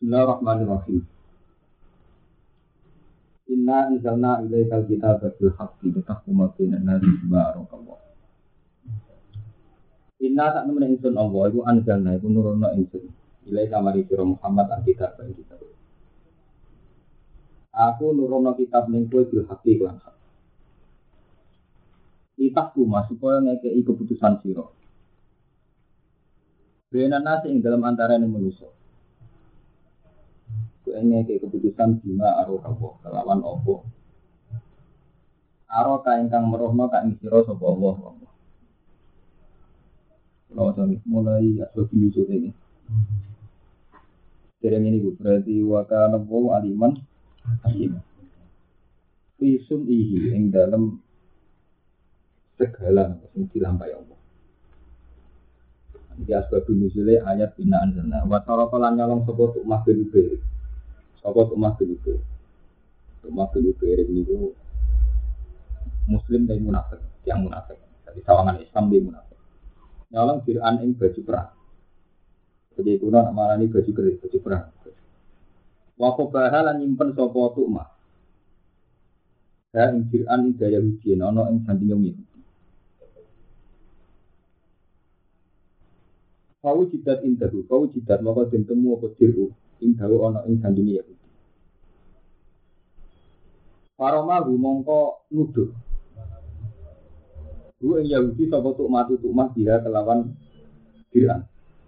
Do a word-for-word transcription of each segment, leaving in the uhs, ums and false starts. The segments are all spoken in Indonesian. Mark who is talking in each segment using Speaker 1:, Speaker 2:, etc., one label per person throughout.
Speaker 1: Bismillahirrahmanirrahim. Inna anzalna ilaikal kitaba bil haqqi litahkuma bainan nasi bima arakallah. Inna sak temen ingsun Allah iku anzalna iku nurono ingsun. Ilaika mari sira Muhammad al-kitab ing kitab. Aku nurono kitab ning kowe bil haqqi lan hak. Litahkuma supaya ngekeki keputusan sira. Bainan nasi ing dalam antarané manusa. Ini ke keputusan bima arokawo kelawan opo aroka ingkang merohno ka ing sira sapa Allah. Kalau sampai mulai asal bilu ini, dereng ini berarti wakana wa aliman hakim. Fisun ihi ing dalam segala sing dilampahi Allah. Iki asal bilu ayat bina anzalna wa tarafalan nyolong sapa tuk mahbil bir. Apa rumah begitu? Rumah begitu ini itu Muslim dan munafik, yang munafik. Jadi sawangan Islam dia munafik. Nyolong Fir'an ing baju perang. Jadi itu nak marani baju keris, baju perang. Waktu bahalan nyimpen sopo tukmah. Saya ing Fir'an ing daya hujian, ono ing sandingan itu. Kau jidat indahu, kau jidat maka dintemu apa diru. Ing dawu ana ing sandinge Yahudi. Paroma rumangka nuduh. Bu ing Yahudi sapa tuk matu tuk mah dia kelawan Fir'an.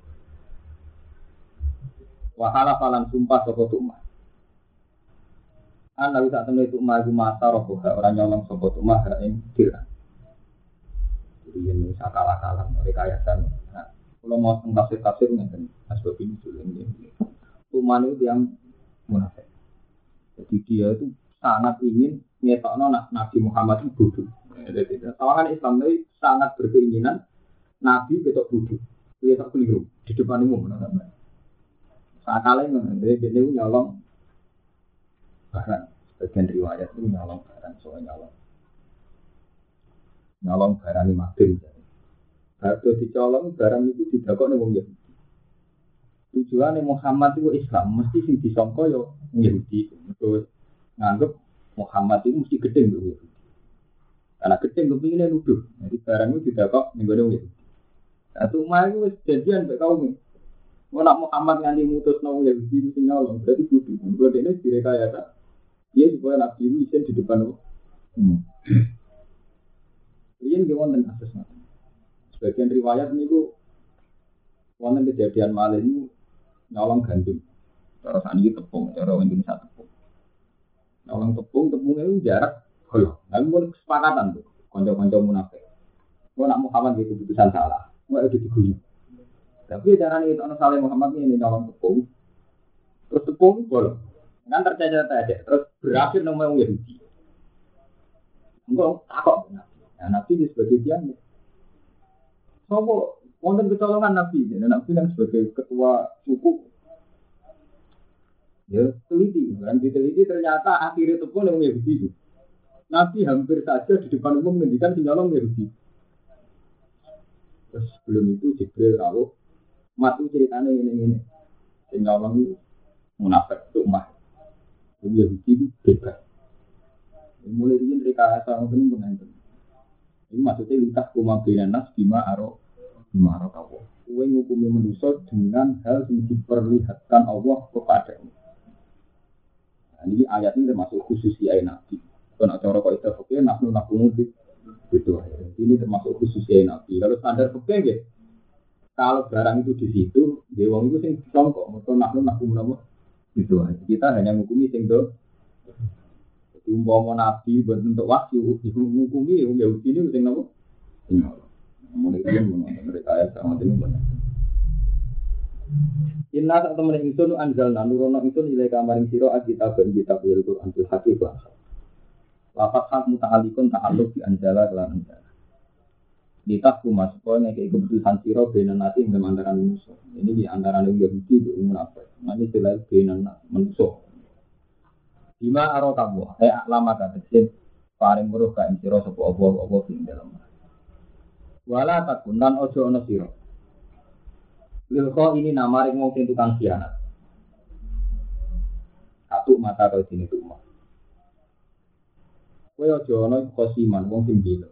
Speaker 1: Wahala falan sumpah sapa tuk mah. Ana wis sak temene tuk mah mata roh ora nyolong sapa tuk mah ing Fir'an. Jadi yen sakala-kala rekayasan. Nah, kula mau tafsir-tafsir ngeten asbab ini ini. Tuman itu yang munafik. Jadi dia itu sangat ingin ngetokno Nabi Muhammad itu bodoh. Jadi tawangan Islam itu sangat berkeinginan Nabi ketok bodoh. Dia tak keliru di depan umum. Sakalnya dia dia nyolong barang. Bagian riwayat itu nyolong barang, soal nyolong nyolong barang lima bin. Kalau dicolong barang itu didakok ning wong Yahudi. Tujuannya Muhammad itu Islam, mesti sing disangka yo Yahudi. Terus nganggep Muhammad itu mesti gedeng lho Yahudi. Karena gedeng kepingine nuduh. Jadi barang itu tidak kok ning gone Yahudi. Satu mah itu wis janjian mek kaum. Mau nak Muhammad nganti mutusno Yahudi itu nyolong, berarti kudu. Mergo dene direkayasa. Dia supaya Nabi itu isen di depan Allah. Hmm. Ini nggih wonten kasus ngoten. Sebagian riwayat niku wonten kejadian malih niku nyolong gandum, cara saniki tepung, cara Indonesia tepung. Nyolong tepung, tepungnya itu jarak, kalau, tapi pun kesepakatan tuh, konco-konco munafik. Kalau nak Muhammad itu keputusan salah, nggak itu diguyur. Tapi cara ini orang saleh Muhammad ini nyolong tepung, terus tepung bolong, kan tercacat aja, terus berakhir nama yang Yahudi. Enggak takut, nah Nabi di sebagai tiang, sopo. Wonten kecolongan Nabi, jadi Nabi yang sebagai ketua suku, ya teliti, kan diteliti ternyata akhirnya itu pun yang Yahudi. Nabi hampir saja di depan umum menghentikan sinyalong Yahudi. Terus sebelum itu Jibril rawuh, matu ceritanya ini ini, sinyalong itu munafik itu mah, Yahudi itu bebas. Mulai ini mereka asal mungkin mengenai. Ini maksudnya lintas kumabilan nas bima aro. Marah Allah. Kue ngukumi manusia dengan hal yang diperlihatkan Allah kepadamu. Nah, ini ayat ini termasuk khusus ayat Nabi. Kalau cara kau itu oke, nafsu nafsu mungkin gitu. Ini termasuk khusus ayat Nabi. Kalau standar oke, okay, kalau barang itu di situ, dewang itu sing disongkok. Maka nafsu nafsu mungkin gitu. Kita hanya ngukumi sing do. Umpama Nabi berbentuk wahyu, ngukumi yang Yahudi ini sing napa? Kemudian mereka ayat sama ini benar. Inna saat temen ingsun anzalna nurono ingsun nilai kamaring sira kitab ben kitab Al-Qur'an fil haqiqah. Lafaz hak muta'alliqun ta'alluq bi anzala lan anzala. Ditah kumas pokoke nek keputusan sira benen nate ing antarané manusa. Ini di antarané Yahudi dan munafik. Mane selain benen manusa. Bima aro kamu, eh lama katen paring weruh ka ing sira sapa apa-apa ing dalem. Wala takunan ojo ono sira. Lilko ini nama ring wong sing tukang khianat. tuk mata kau sini tuk mah. Kau aja ono kosiman wong sing gila.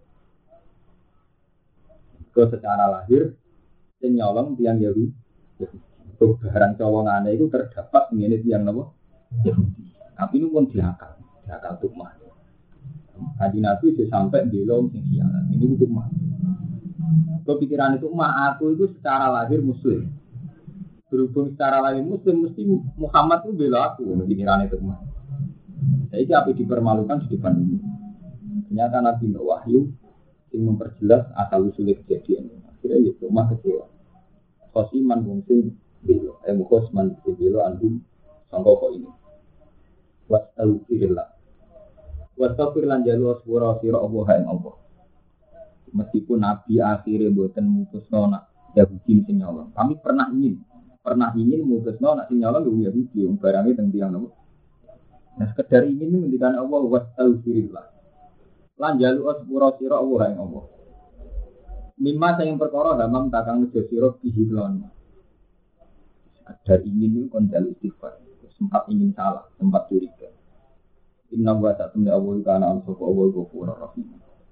Speaker 1: Kau secara lahir sing nyolong tiang Yahudi. Barang cowongane itu terdapat ngene tiang napa? Yahudi. Tapi ini pun diakal, diakal tuk mah. Kaji Nabi itu sampai belum sing khianat. Ini tuk mah. Kau pikiran itu mah aku itu secara lahir muslim. Berhubung secara lahir muslim mesti Muhammad itu bela aku. Pikiran itu mah. Jadi apa dipermalukan di depan ini. Ternyata Nabi Wahyu yang memperjelas asal usul kejadian. Akhirnya itu mah kecewa. Khosiman mungkin bela. Eh mukhosman bela andum sangka kok ini. Wastaghfirullah. Wastaghfirullah jalu asbura sira Allah ing Allah. Meskipun Nabi akhirnya mboten mutusno nak Yahudi sing nyolong. Kami pernah ingin, pernah ingin mutusno nak sing nyolong Yahudi yang barangnya teng tiyang nopo. Nah, sekedar ingin ngendikan Allah wastaghfirullah. Lan jalu asbura sira Allah ing Allah. Mimma sing perkara hamam takang nejo sira bihilon. Sekedar ingin itu kon jalu istighfar. Sempat ingin salah, sempat curiga. Inna wa ta'ala Allah kana al-safu Allah ghafurur rahim.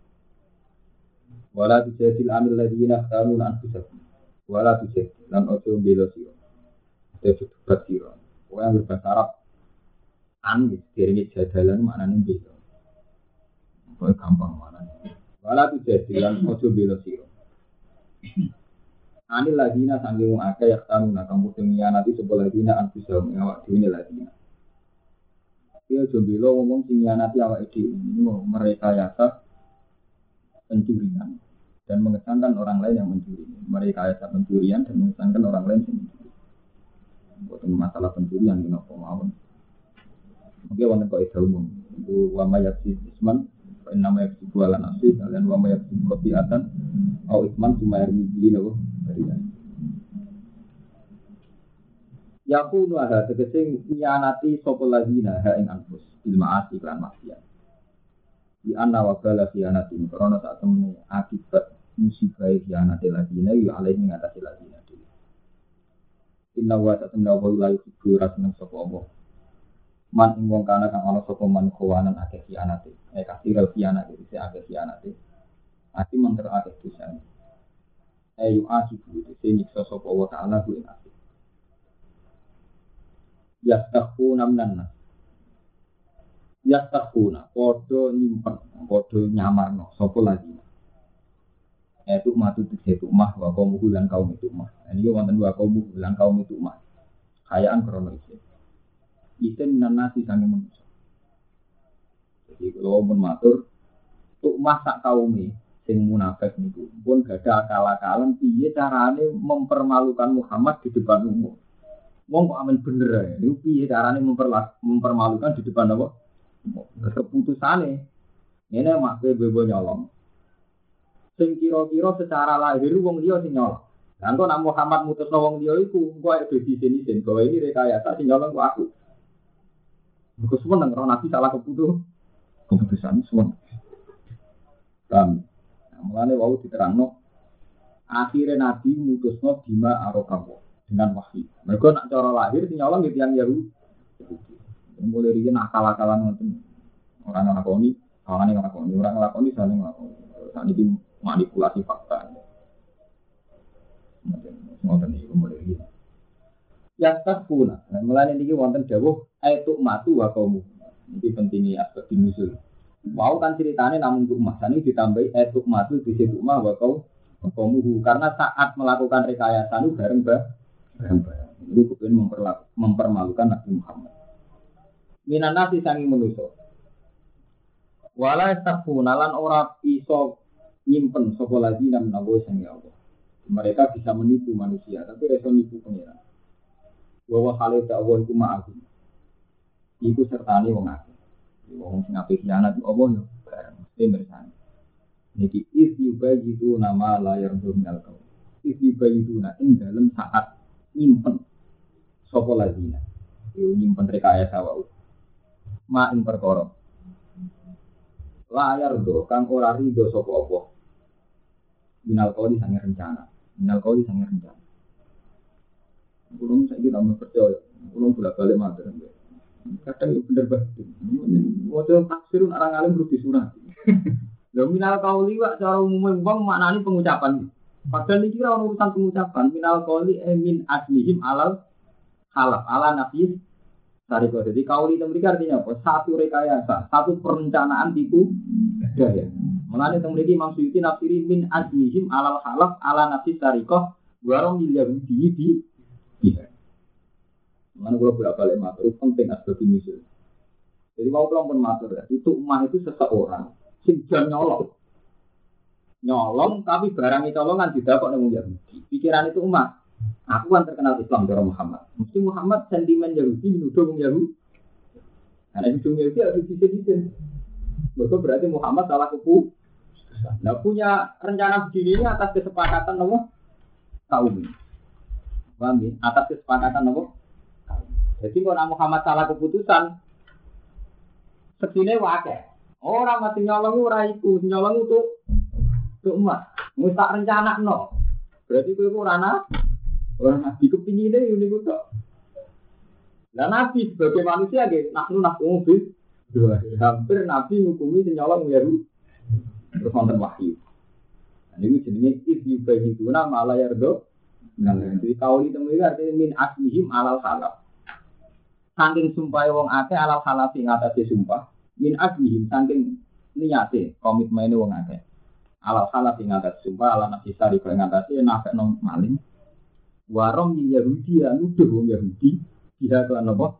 Speaker 1: Wala tujadil amil ladina khtarun anfusahum. Wala tujadil lan ojo bela sira. Ojo debat sira. Kowe yang berbahasa Arab an diri jadalan maknane bela. Kowe gampang maknane. Wala tujadil lan ojo bela sira. Anil ladina sangge wong akeh khtarun kang kudu nyanati sapa ladina anfusahum awak dhewe ladina. Dia ojo bela ngomong sing nyanati awake dhewe. Mereka yasa pencurian dan mengesankan orang lain yang mencuri. Mereka ayat pencurian dan mengesankan orang lain yang mencuri. Bukan masalah pencurian di nopo mawon. Oke, wanita kau itu umum. Itu wamayat si isman, nama yang sebuah nasi, dan wamayat si kopiatan, au isman cuma air mili nopo dari ya. Yaku nuaha tegese nyanati sopo lagi nah ing anfus ilma asik lan maksiat. Di anna wabala khianatin karena saat temui akibat musibah khianati ladina yu alaihi mengatasi ladina dulu. Inna wa ta'ala wa la yuhibbu rasman sapa Allah. Man ing wong kana kang ana sapa man khawanan akeh khianati. Eh kasira khianati isi akeh khianati. Ati menter akeh dosa. Ayu akibu isi nyiksa sapa wa ta'ala ku ing ati. Yastaghfuna minan Yastaghfuna, podo nyimpen, podo nyamarno, sopo lagi. Itu matu itu mah, wa kaum bulan kaum itu mah. Ini wonten wa kaum bulan kaum itu mah. Kayaan krono isi. Isi minan nasi sange manusia. Jadi kalau pun matur, tuk mah sak kaumi, sing munafik niku, pun gak ada akal-akalan, piye carane mempermalukan Muhammad di depan umum. Wong kok amen bener ya, niku piye carane mempermalukan di depan apa? Keputusane ini makbe bebo nyolong sing kira-kira secara lahir wong liya sing nyolong. Lan kok nak Muhammad mutusno wong liya iku engko ae dadi sini-sini bahwa ini rekayasa sing nyolong kok aku. Engko semen nang Nabi salah keputus keputusan semen. Kan mulane wau diterangno akhire Nabi mutusno bima arokawo dengan wahyu. Mergo nak cara lahir sing nyolong iki yang Yahudi. Mulai riyen akal-akalan ngoten. Orang nglakoni, kawane nglakoni, orang nglakoni saling nglakoni. Sak niki manipulasi fakta. Ngoten iki mulai riyen. Ya takuna. Mulane niki wonten dawuh aitu matu wa kaum. Iki pentingnya aspek nusul. Mau kan ceritane namung untuk mas ini ditambahi aitu matu di situ mah wa kaum kaumuhu karena saat melakukan rekayasa itu bareng bareng. Itu kepen mempermalukan Nabi Muhammad. Minan nasi sangi manusa. Wala takfuna lan ora iso nyimpen sapa lagi nang nawa sangi Allah. Mereka bisa menipu manusia, tapi iso nipu pengiran. Wa hale ta'awun ku ma'akum. Iku sertane wong akeh. Wong sing apik khianat Allah yo bareng mesti mirsani. Niki is yubayitu nama layar dominal kau. Is yubayitu na ing dalem saat nyimpen sapa lagi. Yo nyimpen rekayasa wae. Ma ing perkara layar do kang ora rido sapa apa minal kali sange rencana minal kali sange rencana kulo saiki tak percaya kulo bolak-balik matur Kadang itu bener banget. Model tafsir orang alim perlu disunat. Lho minal qauli wa cara umum wong maknane pengucapan. Padahal iki ora urusan pengucapan. Minal qauli e min aslihim alal halaf ala nafis sariko. Jadi qauli itu mereka artinya apa? Satu rekayasa, satu perencanaan tipu daya. Mulane teng mriki Imam Suyuti nafsiri min aslihim alal halaf ala nafis sariko warung miliar di di. Mana kalau bolak-balik matur penting asbab misal. Jadi mau kelompok matur ya, itu umat itu seseorang sing jan nyolong. Nyolong tapi barang itu colongan didapat nang Yahudi. Pikiran itu umat. Aku kan terkenal Islam cara Muhammad. Mesti Muhammad sentimen Yahudi nuduh wong Yahudi. Karena itu Yahudi harus disedisin. Mereka berarti Muhammad salah kepu. Nah punya rencana begini ini atas kesepakatan apa? Kaum. Paham ya? Atas kesepakatan apa? Jadi kalau Muhammad salah keputusan, segini wakai. Orang mati nyolong ora iku, nyolong itu tuh emas. Musta rencana no. Berarti itu orang orang nabi kepingin deh ini gue tak. Dan nabi sebagai manusia gitu, nak nu nak mobil, hampir nabi ngukumi nyolong Yahudi. Terus nonton wahyu. Ini jenisnya ibu bagi itu nama Allah yardo. Nah, jadi kau itu mereka artinya min aslihim alal halal. Saking sumpah wong akeh alal halafi ngatasi sumpah min ajlihim saking niate komitmene wong akeh alal halafi ngatasi sumpah ala nafsi sari kaya ngatasi nafek nang maling warong Yahudi nuduh wong Yahudi tidak kelan apa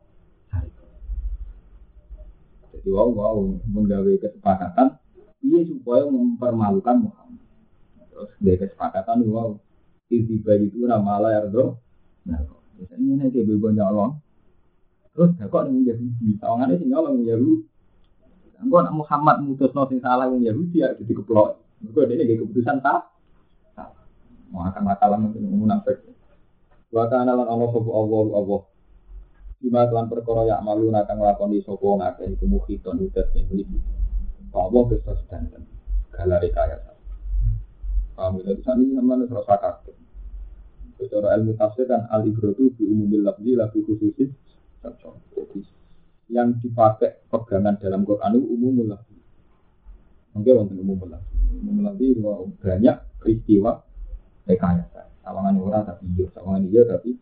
Speaker 1: jadi wow wow menggawe kesepakatan iya supaya mempermalukan Muhammad terus dari kesepakatan wow tiba itu nama Allah yardo nah misalnya ini kayak bebo nyolong terus kok ning Yahudi, sawangane sing nyolong Yahudi. Engko nek Muhammad mutusno sing salah wong Yahudi ya dadi keplok. Mergo dene nggih keputusan ta. Mau akan masalah munafik. Wa kana lan Allah sapa Allah Allah. Bima lan perkara ya malu nak nglakoni sapa ngakeh iku muhiton udat sing iki. Allah besar sedanten. Galare kaya. Paham itu sami sampeyan terus sakake. Secara ilmu tafsir dan al-ibratu bi umumil lafzi la bi khususis. Jadi yang dipakai pegangan dalam Quran itu umum lah. Mungkin wonten umum lah. Umum lah itu banyak peristiwa rekayasa. Sawangan orang tapi iya, sawangan iya tapi.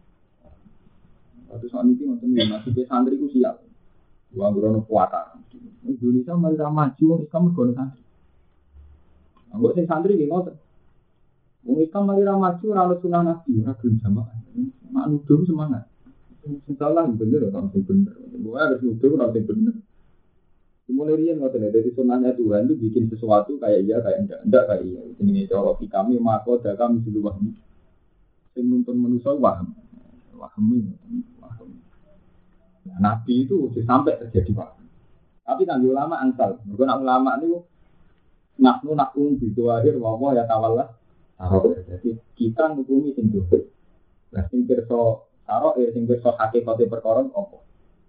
Speaker 1: Waktu soal ini wonten yang masih ke santri ku siap. Wong grono kuatan. Indonesia mari ra maju Islam mergo santri. Anggo sing santri nggih ngoten. Wong Islam mari ra maju ora ono sunah nabi, ora gelem jamaah. Mak nuduh semangat. Salah bener orang yang bener. Gua harus nuduh orang yang bener. Mulai rian ngoten dari sunahnya Tuhan itu bikin sesuatu kayak iya kayak enggak enggak kayak iya. Ini cara kami maka ada kami sudah waham. Sing nuntun manusia waham. Waham ini waham. Nabi itu sampai terjadi waham. Tapi kan ulama angsal. Mergo nak ulama niku nahnu nakum bidu akhir wa ya tawalla. Jadi kita ngukumi sing dosa. Lah sing pirsa karo ya sing wis hakikate perkara apa.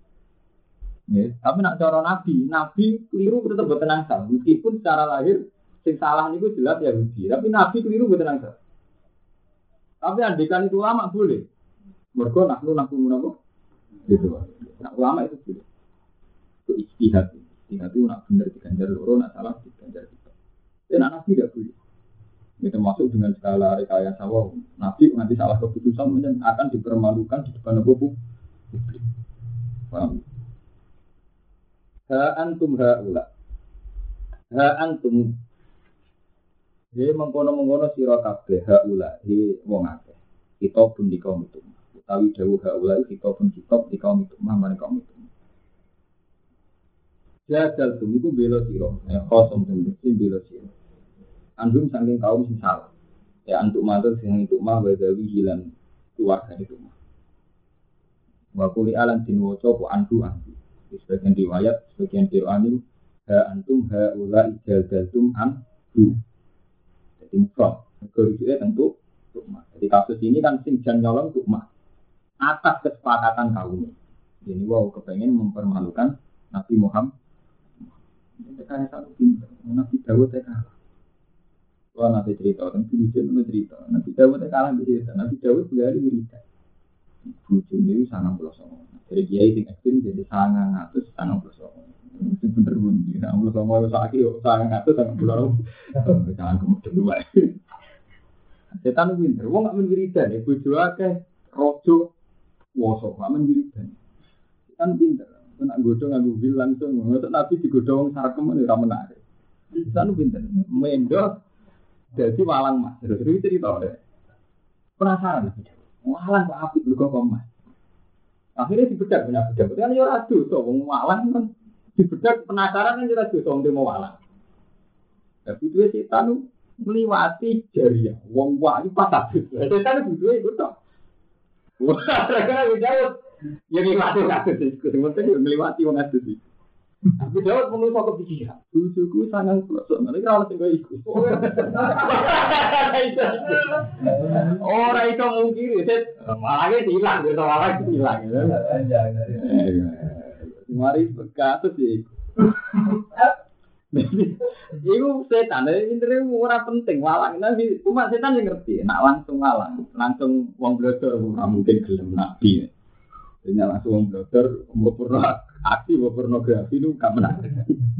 Speaker 1: Ya, tapi nak cara nabi, nabi keliru tetep boten angsal. Meskipun secara lahir sing salah niku jelas Yahudi, tapi nabi keliru boten angsal. Tapi andikan itu ulama boleh. Mergo nak lu nak menapa? Gitu. Nak ulama itu boleh. Itu ijtihad. Ijtihad itu nak bener diganjar loro, nak salah diganjar tiga. Dan nabi tidak boleh. Ini termasuk dengan skala rekayasa wow. Nabi nanti salah keputusan dan akan dipermalukan di depan publik. Paham? Ha antum haula. Ha antum. He mengkono-mengkono sira kabeh haula, he wong akeh. Kita pun di kaum itu. Utawi dawuh haula kita pun kitab di kaum itu, mangane kaum itu. Jadal tum iku bela sira, ya kosong tum bela sira. Andum saking kaum sing salah. Ya antuk matur sing itu mah wadawi hilang keluarga itu mah. Wa quli alan tin waca po andu andu. Sebagian riwayat, sebagian qira'an ha antum ha ula ijadaltum andu. Jadi mufrad. Kerujuke tentu tukmah. Jadi kasus ini kan sing jan nyolong tukmah. Atas kesepakatan kaum. Jadi wow kepengen mempermalukan Nabi Muhammad. Mereka yang satu pintar. Nabi Dawud ya kalah. Wah nanti cerita, nanti bisa nanti cerita. Nabi Dawud ya kalah bisa. Nabi Dawud berlari wiridan. bojone sangang puluh songo. Dari kiai sing ekstrim jadi sangang atus sangang puluh songo. Itu bener pun tidak puluh songo saiki yo sangang atus sangang puluh. Jangan kemudian wae. Setan pinter, wong gak men wiridan, bojo akeh rojo woso, gak men wiridan. Setan pinter, nek godhong nganggo wil langsung, ngono Nabi digodhong sarkem ora menarik. Setan pinter, mendo dadi walang mas. Terus cerita deh. Penasaran lagi. Walang kok apik lho kok mas. Akhirnya dibedak banyak bedak. Kan yo ora dosa wong walang kan dibedak penasaran kan ora dosa wong demo walang. Tapi duwe setan ngliwati jariah wong wae pas abis. Setan duwe iku tok. Wah, kan Daud yang ngliwati kasus iku penting yo ngliwati wong adus iki. Aku Daud mung iso kepikiran. Bojoku sangang plosok, nek ora ono sing kaya iku. Ora iso mungkiri, set malah iki ilang, yo malah ilang. Mari kasus iku. Iku setan, intre ora penting walang, tapi cuma setan sing ngerti, nak langsung walang, langsung wong blodor ora mungkin gelem nabi. Dene langsung wong blodor mbok aksi pornografi itu gak menarik.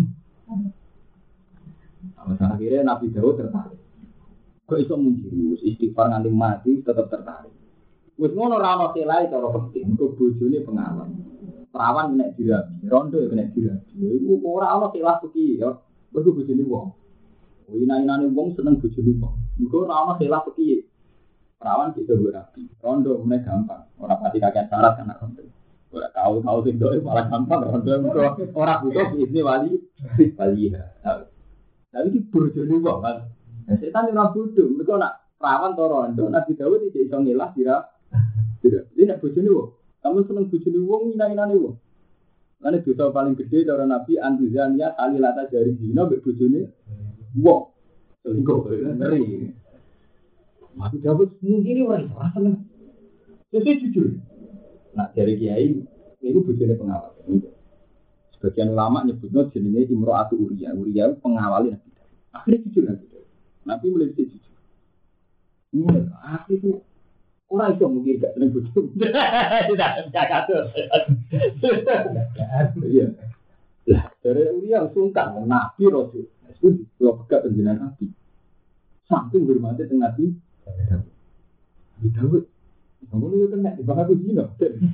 Speaker 1: Nah, akhirnya Nabi Daud tertarik. Kok iso mungkin istighfar nganti mati tetap tertarik. Wis ngono ra ono selai cara penting, kok bojone pengawal. Perawan nek dirabi, rondo nek dirabi. Iku ora ono selah iki ya. Mergo bojone wong. Wina-inane wong seneng bojone wong. Mergo ora ono selah iki. Perawan bisa berapi. Rondo meneh gampang. Ora pati kakean syarat kan rondo. Ora tahu-tahu sing doe malah gampang rondo ora butuh ini wali wali ya. Tapi iki bojone wong kan. Setan ora bodoh, mergo nak perawan to rondo Nabi Daud iki iso ngelah dira. Dira. Iki nek bojone wong, kamu seneng bojone wong ina-inane wong. Lan dosa paling gede cara Nabi antuzania alilata jari dina mbek bojone wong. Selingkuh ngeri. Nabi Daud mungkin ora iso seneng. Sesuk jujur. Nah dari kiai itu bojone pengawal. Sebagian ulama nyebutnya jenenge Imro'atu Uriya. Uriya pengawalin Nabi. Akhirnya jujur Nabi. Nabi mulai jujur. Ini akhirnya itu orang itu mungkin gak seneng bojone. Tidak, gak katur. Iya. Lah dari Uriya sungkan Nabi Rasul. Itu kalau pegat penjenengan Nabi. Saking bermati dengan Nabi. Nabi Daud. Kamu itu kena di bawah aku zina.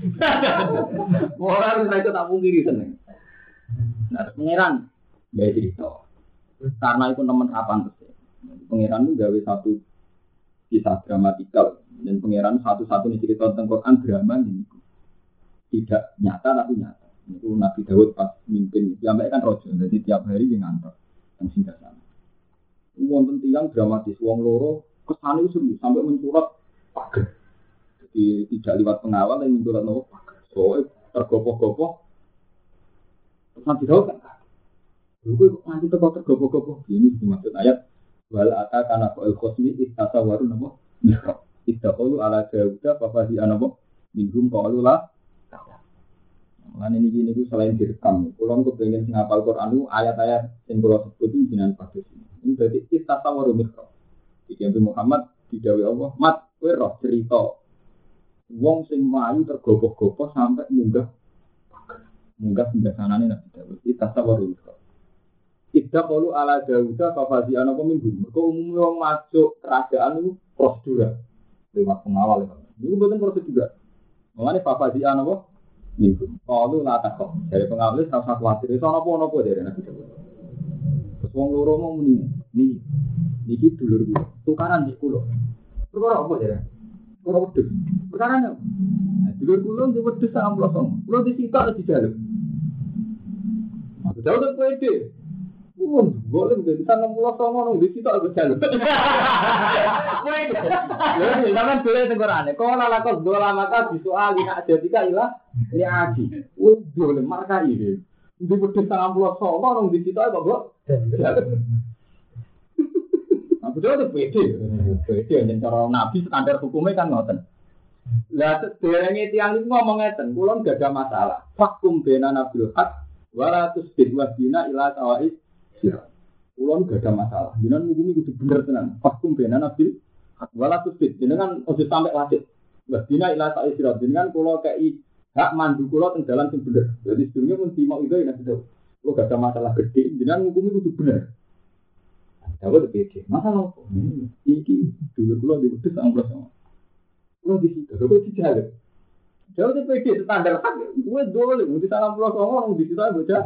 Speaker 1: Orang itu tak mungkiri seneng. Nah, pangeran ya cerita. Karena itu teman kapan terus. Pangeran itu gawe satu kisah dramatikal dan pangeran satu-satunya cerita tentang Quran drama ini. Tidak nyata tapi nyata. Itu Nabi Daud pas mimpin. Sampai kan rojo. Jadi tiap hari dia ngantor yang singgah sana. Wong tentang dramatis. Wong loro kesana itu serius sampai mencurat pagar. Jadi tidak lewat pengawal yang mencurat nopo pagar. Soalnya tergopoh-gopoh. Terus Nabi Daud kan. Lalu nanti tergopoh-gopoh. Ini dimaksud ayat. Wala ata kana fa'il khosmi istata waru nopo mihrab. Istaqalu ala Dawuda fafadi anopo. Minhum qalu la. Lan ini gini itu selain direkam. Kalau aku pengen ngapal Quran ayat-ayat yang kalau sebut itu jinan pada sini. Ini berarti istata waru mihrab. Jadi Nabi Muhammad didhawuhi Allah, "Mat, kowe roh cerita wong sing mlayu tergopoh-gopoh sampai munggah munggah singgasanane Nabi Daud. Itu tasawaru. Tidak perlu ala Dawuda fafazi ana peminggu. Mergo umumnya wong masuk kerajaan itu prosedur lewat pengawal ya. Itu bukan prosedur. Mengenai fafazi ana apa? Minggu. Kalau la takok dari pengawal itu rasa khawatir. Itu ana apa-apa dari Nabi Daud. Terus wong loro mau muni, "Niki niki dulur kula. Tukaran iki kula." Perkara apa ya? Perkara wedhus. Perkara apa? Dulur kula ndek wedhus sak amplosong. Kula disitok di jaluk. Aku tahu tak pede. Pun boleh menjadi enam puluh songo disitok di jaluk. Pede. Ya, sampean boleh tengorane. Kalau lakon dola maka disoal hak jadika ilah ini aji. Wih, boleh markai iki. Ndek wedhus sak amplosong songo disitok kok, Bro. Aku tahu pede. Pede yang cara Nabi standar hukumnya kan ngoten. Lah derenge tiyang iki ngomong ngeten, kula enggak ada masalah. Fakum bena nabil haq wala tusbid wabina ila tawais sira. Kula enggak ada masalah. Jenengan mungkin kudu bener tenan. Fakum bena nabil haq wala tusbid. Jenengan ojo sampai wasit. Dina ila sa'i sirat dengan kula kei hak mandu kula teng dalan sing bener. Jadi sedurunge mun timau itu ya betul. Kula gak ada masalah gede, jenengan ngukumi kudu bener. Dawa pede. Masalah apa? Iki dulu kula di wedhus amplos. Kula di situ, kok dijaga. Dawa pede standar hak, kuwi dole mesti salam kula ngomong di situ bocah.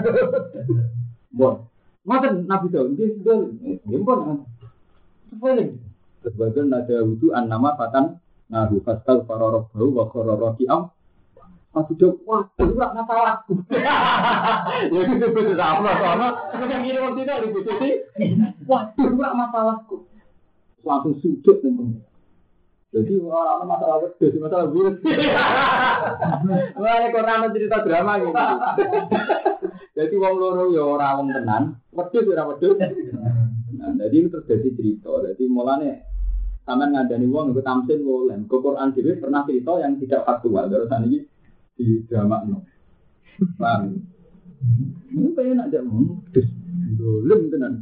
Speaker 1: Bon. Maten Nabi Daud iki dole. Ngimpun. Boleh. Sebagian nada wudu an nama fatan nahu fastal faroroh bau wa kororo kiam. Aku jawab, wah, itu gak masalahku. Ya itu betul sama sama. Kemudian gini waktu itu lebih betul. Wah, itu gak masalahku. Langsung sujud teman. Jadi orang masalah betul, masalah buruk. Wah, ini Quran cerita drama gitu. Jadi wong loro ya ora wong tenan, wedhus ora wedhus. Nah, jadi ini terjadi cerita. Jadi mulane sampean ngandani wong nggo tamsil boleh. Quran dhewe pernah cerita yang tidak faktual. Terus ini di drama no. Paham? Ini pengen nak jamu, terus dolem tenan.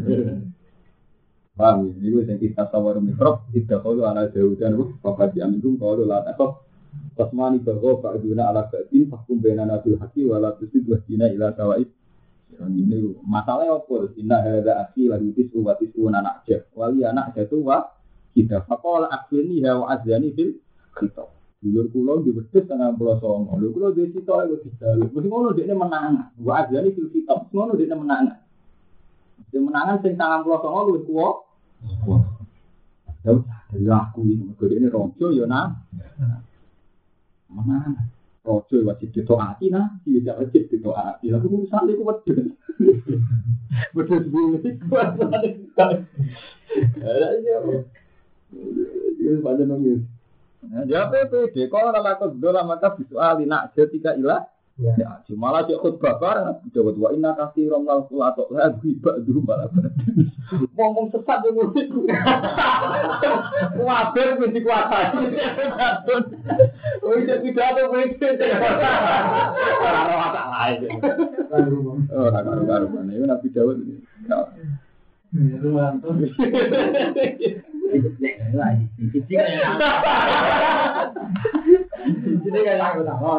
Speaker 1: Paham? Ini yang kita sawar mikrop, kita kalau ala jauh dan bapak diambil kalau lah takut. Tasmani bahwa Pak Duna ala Badin fakum bena nabil haki wala tusid wajina ila kawaid. Ini masalahnya apa? Inna hadza akhi lagu tisu wa tisu anak jah. Wali anak jatuh wa kita faqala akhirni wa azani fil khitab. Dulur kula di wedhus tengah pulau Songo. Lho kula dhewe sitok iku dijaluk. Wis ngono dekne menang. Wa azani fil khitab. Ngono dekne menang. Sing menangan sing tengah pulau Songo luwih kuwa. Kuwa. Dari aku iki mergo dekne raja ya nah. Mana? Rojo wajib ditoati nah, tidak wajib ditoati. Lalu urusan itu wedhus. Wedhus bulu itu kuat banget. Ada aja. Ini panjang nangis. Ya P P D kalau nama kebetulan maka visual nak ketika ilah. Ya, cuma lah cek khutbah bareng. Coba dua ina kasih romlah pula atau lah gibah dulu malah. Ngomong sesat dulu itu. Wabar mesti kuasai. Oh itu tidak ada mesti. Orang apa lain? Oh orang orang mana? Ini Nabi Daud ini. Itu mantap. Ini kan aku tak mau.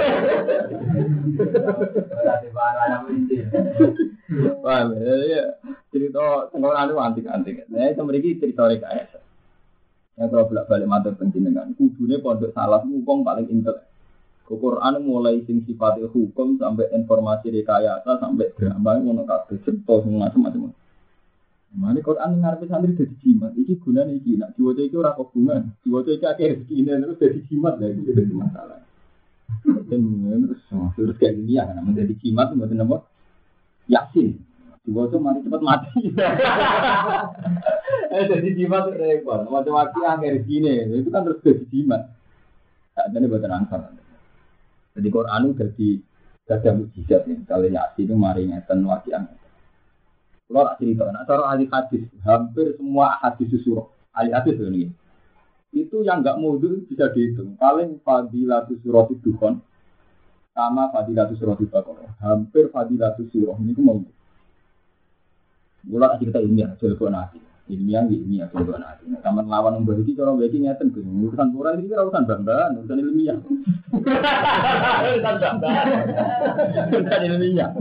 Speaker 1: Wah, ya cerita tengah anu antik-antik. Nah, itu memiliki cerita rekayasa. Yang kalau bolak-balik matur penjenengan, kudune pondok salaf hukum paling intel. Quran mulai sing sifatnya hukum sampai informasi rekayasa sampai drama ngono kabeh cerita macam-macam. Mane Quran ngarepe santri dadi jimat. Iki gunane iki nek diwaca iki ora hubungan. Diwaca iki akeh rezekine terus dadi jimat lha iki dadi masalah. Dan terus terus kayak gini ya kan menjadi jimat mboten apa? Yasin. Diwaca mari cepat mati. Eh dadi jimat repot. Macam-macam akeh rezekine. Itu kan terus dadi jimat. Sakjane mboten ansar. Jadi Quran dadi ada mukjizat nih. Kalau Yasin itu mari ngeten wakian. Kalau tak cerita, nah cara ahli hadis, hampir semua hadis surah, ahli hadis ini, itu yang enggak mundur bisa dihitung. Paling fadilatus surah itu kan, sama fadilatus surah itu Baqarah, hampir fadilatus surah ini itu mundur. Kalau tak cerita ilmiah, jago nanti, ilmiah ilmiah jago nanti. Taman lawan yang berhenti, kalau berhenti ngeten, urusan Quran ini urusan banggaan, urusan ilmiah. Urusan banggaan, urusan ilmiah.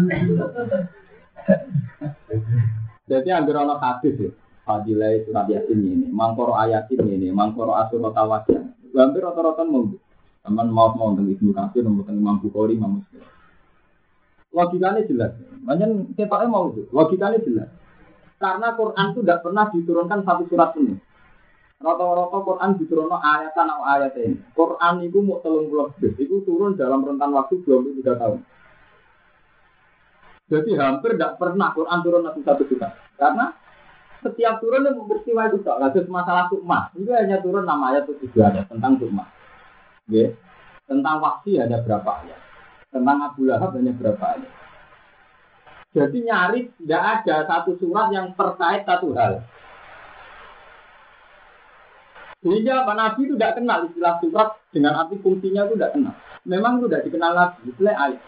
Speaker 1: Jadi ambil orang hadis ya, fadilah surat yasin ini, mangkoro ayatin ini, mangkoro asurat tawajan. Hampir rata-rata mau, teman mau mau tentang Ibnu Katsir, mau tentang Imam Bukhari, Imam Muslim. Logikanya jelas, banyak kita mau itu, logikanya jelas. Karena Quran itu tidak pernah diturunkan satu surat penuh. Rata-rata Quran diturunkan ayatan atau ayat ini. Quran itu mau telung puluh juz, itu turun dalam rentan waktu dua puluh tiga tahun. Jadi hampir tidak pernah Quran turun satu surat. Karena setiap turun itu peristiwa itu tak. Lalu masalah sukma, itu hanya turun nama ayat itu juga ada tentang sukma. Okay. Tentang wahsi ada berapa ayat. Tentang Abu Lahab hanya berapa ayat. Jadi nyaris tidak ada satu surat yang terkait satu hal. Sehingga Pak Nabi itu tidak kenal istilah surat dengan arti fungsinya itu tidak kenal. Memang itu tidak dikenal lagi. Istilah ayat.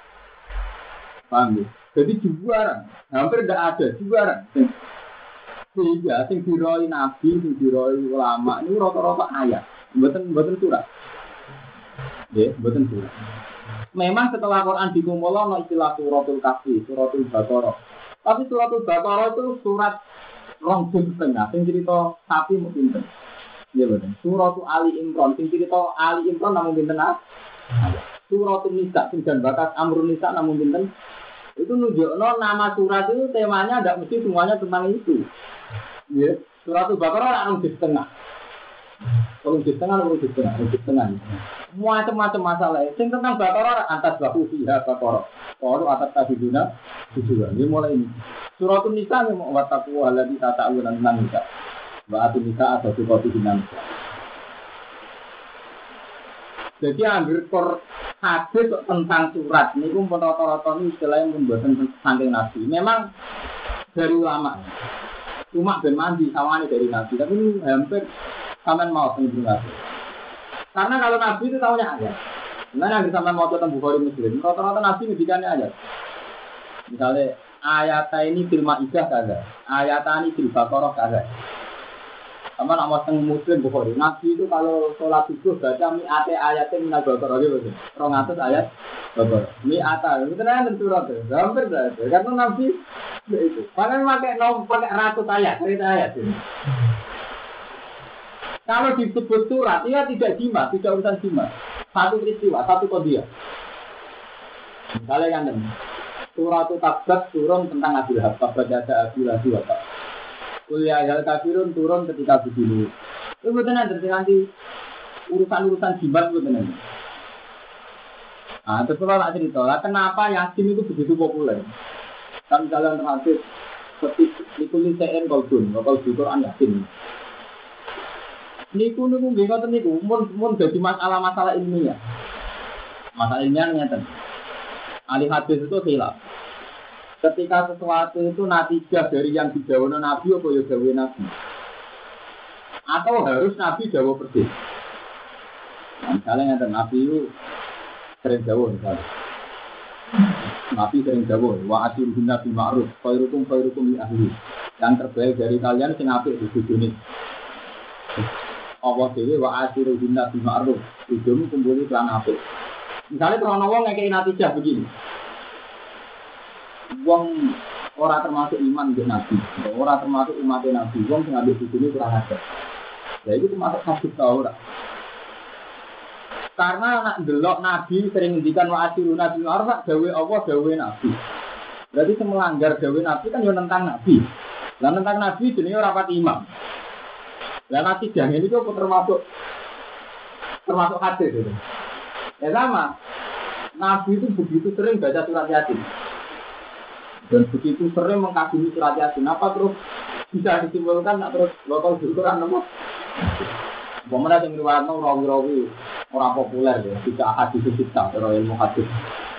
Speaker 1: Paham ya? Jadi juaran, hampir tidak ada juaran. Sehingga sing diroi nabi, sing diroi ulama ini rata-rata ayat, mboten mboten surat. Nggih, mboten surat. Memang setelah Quran dikumpulkan ana istilah suratul kahfi, suratul baqarah. Tapi suratul baqarah itu surat rong juz setengah, sing cerita sapi mung pinten. Iya betul. Suratul Ali Imran, sing cerita Ali Imran namun pinten ah? Suratul Nisa, sing jan bakas Amrun Nisa namun pinten. Itu nunjukno nama surat itu temanya tidak mesti semuanya tentang itu. Ya, surat Al-Baqarah orang di setengah. Kalau di setengah, kalau di setengah, di setengah. Macam-macam masalah. Yang tentang Baqarah atas bahu fiha Baqarah. Kalau atas tadi guna, tujuan. Ini mulai ini. Surat Nisa memang wataku alladzi tata'awuna tentang Nisa. Ba'atu Nisa atau surat Nisa. Jadi ambil kor hadis tentang surat. Ini pun rata-rata ini istilahnya membuat saking Nabi. Memang dari ulama. Cuma ben mandi sawane dari Nabi, tapi ini hampir sampean mau sendiri Nabi. Karena kalau Nabi itu tahunya ayat. Nah, yang sampean mau tentang Bukhari Muslim, rata-rata Nabi ngendikannya ayat. Misalnya ayat ini fil Maidah kaza, ayat ini fil Baqarah kaza. Sama nama teng Muslim Bukhari, Nabi itu kalau sholat subuh baca mi'ate ayatnya minal Baqarah gitu. dua ratus ayat Baqarah. Mi'ata, itu kan surat itu. Hampir berarti. Karena Nabi itu. Padahal pakai nom pakai ratus ayat, cerita ayat ini. Kalau disebut surat, ia tidak jimat, tidak urusan jimat. Satu peristiwa, satu qadiyah. Misalnya kan ini. Surat Tabat turun tentang Abil Hab, Tabat ada Abil Hab apa? Kuliah hal kafirun turun ketika begini. Itu betul nanti nanti urusan-urusan jimat betul nanti. Nah, terus kalau nak cerita lah, kenapa Yasin itu begitu populer? Kan jalan terhadap seperti nikuli C N Golden, kalau di Quran Yasin. Niku niku bingung tuh niku, mun mun jadi masalah-masalah ilmiah. Masalah ilmiah nyata. Ahli hadis itu hilang. Ketika sesuatu itu natijah dari yang didawono Nabi atau ya dawe Nabi, atau harus Nabi dawo persis. Nah, misalnya nyata Nabi itu sering dawo misalnya. Nabi sering dawo, wa asyirun nabi ma'ruf, khairukum khairukum li ahli. Yang terbaik dari kalian sing apik di dunia. Allah dewe wa asyirun nabi ma'ruf, hidupmu kumpuli kelan apik. Misalnya kalau wong ngekei natijah begini. Wong ora termasuk iman di Nabi, ora termasuk umat Nabi, wong sing ngambil bujune kurang ajar. Ya itu termasuk kasus ora. Karena nak delok Nabi sering ngendikan wa asiru nabi arfa dawe Allah dawe Nabi. Berarti melanggar dawe Nabi kan yo nentang Nabi. Lah nentang Nabi jenenge ora pati imam. Lah nanti jangan itu termasuk termasuk hadis itu. Ya sama. Nabi itu begitu sering baca surat Yasin. Dan begitu sering mengkagumi surat Yasin, apa terus bisa disimpulkan terus lokal Quran apa? Bagaimana yang riwayatnya rawi-rawi orang populer ya, tidak hadis kita terus ilmu hadis.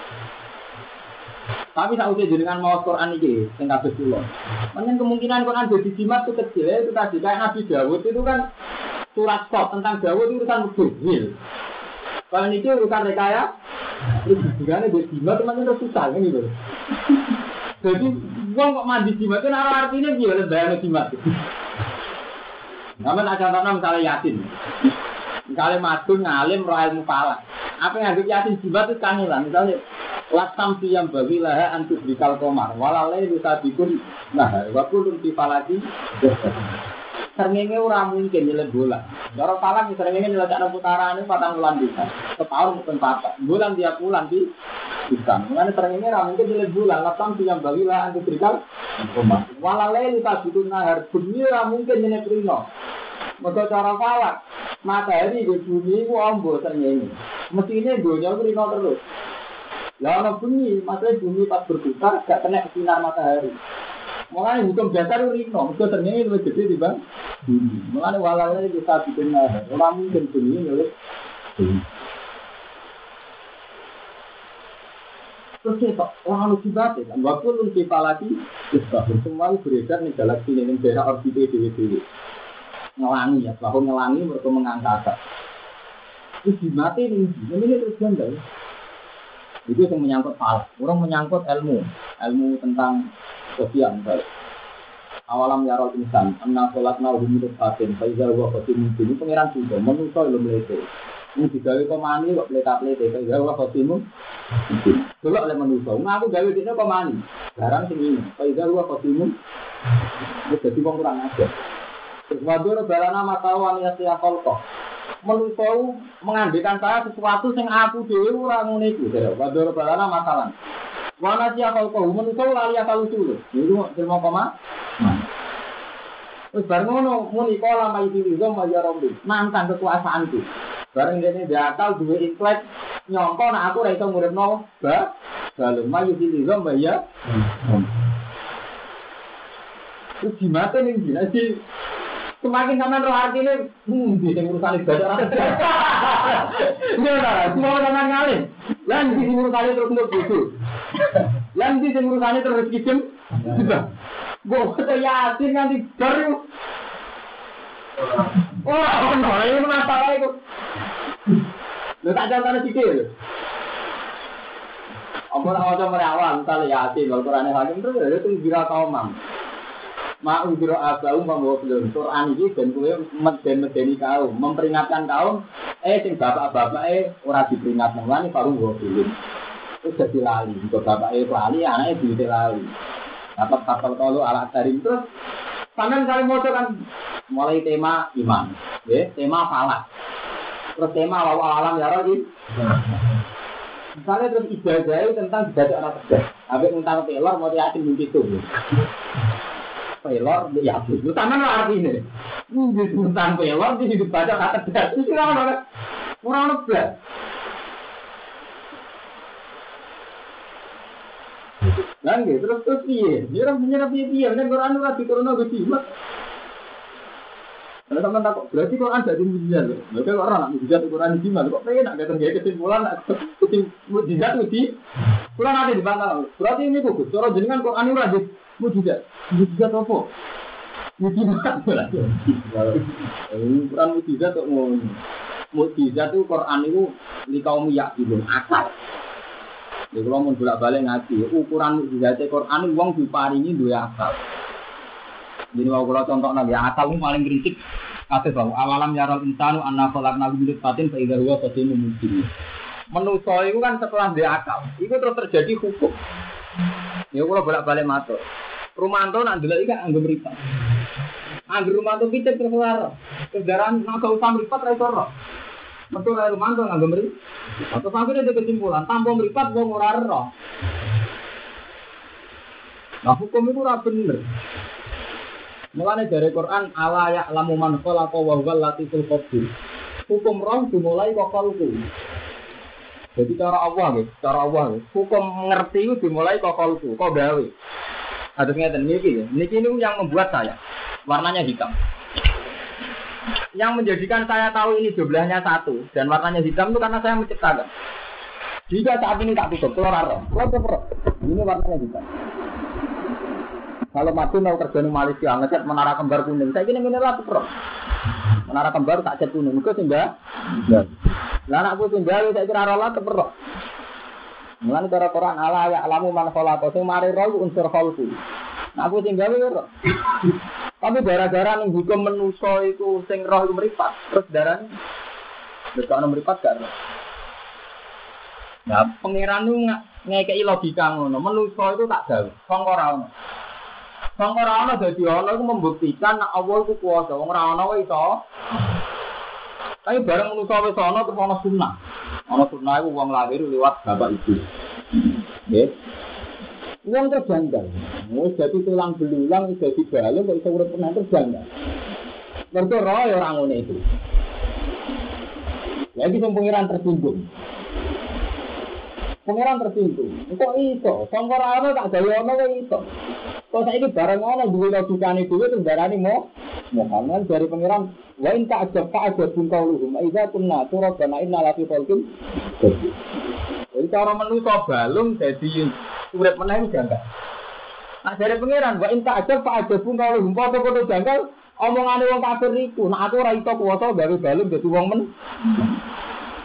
Speaker 1: Tapi saat usia jenengan mau Quran ini, tinggal betul. Mungkin kemungkinan Quran jadi jimat itu kecil ya, itu tadi kayak Nabi Dawud itu kan surat kok tentang Dawud itu urusan mubin. Kalau ini urusan rekaya, itu juga jadi jimat teman-teman itu susah kan gitu. Jadi, uang kok mandi jimat itu nara artinya gimana bayangnya jimat itu. Namun ada contohnya misalnya Yasin. Misalnya madun, ngalim, roh ilmu falak. Apa yang ada Yasin jimat itu kangilan. Misalnya, Lasam siyam bagi laha antus bikal komar. Walalai bisa bikun. Nah, wakulun si falaki. Sernenge ora mungkin nyelek bola. Cara falak sernenge nyelek putaran ini patang bulan bisa. Setahun mungkin patah. Bulan tiap bulan di bisa. Mengenai sernenge ora mungkin nyelek bola. Lasam siyam bagi laha antus bikal komar. Walalai bisa bikun nahar. Bumi ora mungkin nyelek rino. Maka cara falak matahari di bumi ku ombo sernenge. Mestinya dunia ku rino terus. Lah ana bunyi, maksudnya bumi pas berputar gak kena sinar matahari. Mulane hukum dasar rino, mergo ternyata luwih gede dibanding bumi. Mulane walalane bisa bikin ora mungkin bumi luwih bumi. Terus kok orang lucu banget kan, waktu lu tiba lagi, semua beredar nih galaksi ini daerah orbite dewi-dewi. Ngelangi ya, bahwa ngelangi mereka mengangkasa. Terus dimati nih, ini terus ganda ya. Itu yang menyangkut falak. Orang menyangkut ilmu, ilmu tentang sosial. awalam yarol insan anna sholatna hum fatin fa iza huwa qatim ini pangeran juga manusa lho mlete ini digawe kok mani kok pleta-plete fa iza huwa qatim delok le manusa aku gawe dene kok mani barang sing ini fa iza huwa qatim wis dadi wong kurang ajar terus wadur balana matawan ya siakol kok manusa mengandekan saya sesuatu sing aku dhewe ora ngene iku wadur balana masalan wana siakol kok manusa lali akal usul niku terima koma wis bar ngono muni kala mai dilizo maya rombi nantang kekuasaanku bareng dene diakal duwe ikhlas nyongko nek aku ora iso nguripno ba balem mai dilizo maya wis dimate ning dinasti semakin sampean roh artine hmm di sing urusan ibadah ora ora semua sampean ngalih lan di urusan terus nduk bodo lan di sing urusan terus kijem sudah gua kata yakin nanti baru wah ono ini masalah itu lho tak contohnya sithik lho apa ora waca merawang kali yakin lho Qur'ane hakim terus lho itu kira kaum mam ma ujro abau membawa belum Quran iki ben kowe meden-medeni kaum memperingatkan kaum eh sing bapak-bapake ora diperingatno lan baru nggo belum itu dadi lali kok bapake lali anake duwe lali apa kapal kalau ala tarim terus sampean kali moco kan mulai tema iman ya tema falak terus tema wa alam ya roh misalnya terus ibadah tentang ibadah orang cerdas habis tentang pelor mau yakin mimpi itu pelor ya itu sampean lho artine ini tentang pelor di hidup baca kata cerdas itu ora ono ora ono blas lan gitu terus terus piye dia menyerap piye piye nek Quran ora diturunno go jimat ana sampean takok berarti Quran dadi mujizat lho lha kok ora nak mujizat Quran jimat kok penak gak terjadi kesimpulan kesim mujizat uji kula nate dibantah berarti ini kok cara jenengan Quran ora di mujizat mujizat apa mujizat berarti Quran mujizat kok ngono mujizat itu Quran itu li kaum yakin akal. Ya kalau mau bolak-balik ngaji, ukuran mukjizat Quran wong diparingi duwe akal. Jadi mau kalau contoh nabi akal itu paling kritik. Kata bahwa awalam yarol insanu anna khalaqnahu min nutfatin fa idza huwa khasimun mubin. Manusa itu kan setelah dia akal, itu terus terjadi hukum. Ya kalau bolak-balik matur. Rumanto nak ndelok iki kan anggo mripat. Anggo rumanto picet terus lara. Kendaraan nak usah mripat ra iso ora. Metu ae rumanto nganggo mripat. Atau sampai ada kesimpulan, tanpa meripat wong ora ero. Nah hukum itu ora bener. Mulane dari Quran ala ya'lamu man khalaqa wa huwal latiful khabir. Hukum roh dimulai kok kalku. Jadi cara Allah nggih, cara Allah. Hukum ngerti itu dimulai kok kalku, kok gawe. Ada ngeten niki ya. Niki niku yang membuat saya warnanya hitam. Yang menjadikan saya tahu ini jumlahnya satu dan warnanya hitam itu karena saya menciptakan. Jika saat ini tak tutup, keluar roh, keluar roh. Ini warnanya hitam. Kalau mati mau kerja di Malaysia, ngecat menara kembar kuning. Saya kira mineral tuh roh. Menara kembar tak cat kuning, itu sehingga. Lah anakku tinggal saya kira roh lah tuh roh. Mulane cara Quran ala ya alamu man khalaqa sing mari roh unsur khalqu. Nah aku tinggal roh. Tapi gara-gara ning hukum manusa iku sing roh iku mripat, terus darane nek ana mripat gak roh. Nah, pangeran ku ngekeki logika ngono, manusa itu tak gawe, wong ora ono. Wong ora ono dadi ono iku membuktikan nek Allah iku kuwasa, wong ora ono wae iso. Tapi bareng manusa wis ono terus ono sunah. Ono sunah iku wong lahir liwat bapak ibu. Nggih. Wong terjanggal, wis dadi tulang belulang, wis dadi balung, kok iso urip tenan terjanggal. Mergo roh ya ora ngene iki. Lagi sing pengiran tersinggung. Pengiran tersinggung. Kok iso? Sangka ora ono tak gawe ono kok iso. Kok saiki bareng ono duwe logikane dhewe terus darani mo. Muhammad dari pengiran wa in ta'ajab fa'ajab bin qauluhum idza kunna turabana inna la fi khalqin. Jadi cara manusa balung dadi urip meneh janggal. Nah dari pangeran wa inta aja pak aja pun kalau humpa foto janggal omongane wong kafir iku. Nah aku ora iso kuwasa gawe balung dadi wong men.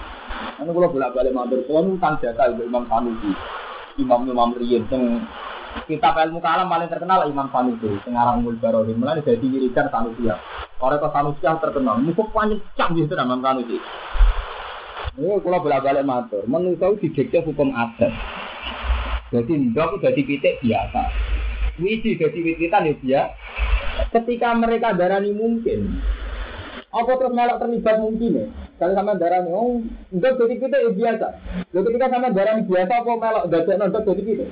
Speaker 1: Anu kula bolak-balik matur suwun tang jasa Imam Sanusi. Imam-imam riyen sing
Speaker 2: kitab ilmu kalam paling terkenal Imam Sanusi, Pengarang Umul Barodin, mulai dari wiridan Sanusi. Orang ke Sanusi terkenal, musuh paling canggih itu Imam Sanusi. Ini kalau bolak-balik matur, menurut didikte hukum adat. Jadi ndok jadi pitik biasa. Wiji jadi wititan ya biasa. Ketika mereka darani mungkin, apa terus melok terlibat mungkin ya? Kalau sama darani, oh, ndok jadi pitik ya biasa. Lalu ketika sama darani biasa, apa melok dadek ndok jadi pitik?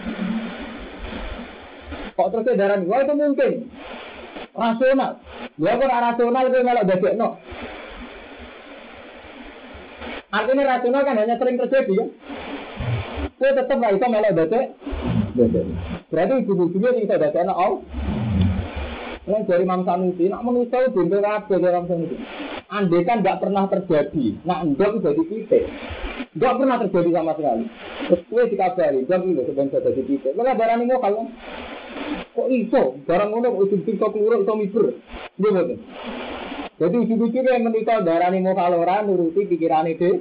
Speaker 2: Kok terus darani, wah itu mungkin rasional. Ya kok rasional itu melok dadek ndok. Artinya rasional kan hanya sering terjadi ya. Saya tetap nggak bisa melok dadek. Berarti ujung-ujungnya bisa dadek ndok. Oh, yang dari Imam Sanusi, nak manusia itu bener apa dari Imam Sanusi? Andai kan nggak pernah terjadi, nak ndok jadi titik, nggak pernah terjadi sama sekali. Terus gue dikabari, ndok itu sebenarnya jadi titik. Kalau barang ini mau kalau kok iso, barang ngono ujung-ujung kok keluar itu miber, dia betul. Jadi ujung-ujungnya yang menikah darah ini mau kalau orang nuruti pikiran itu.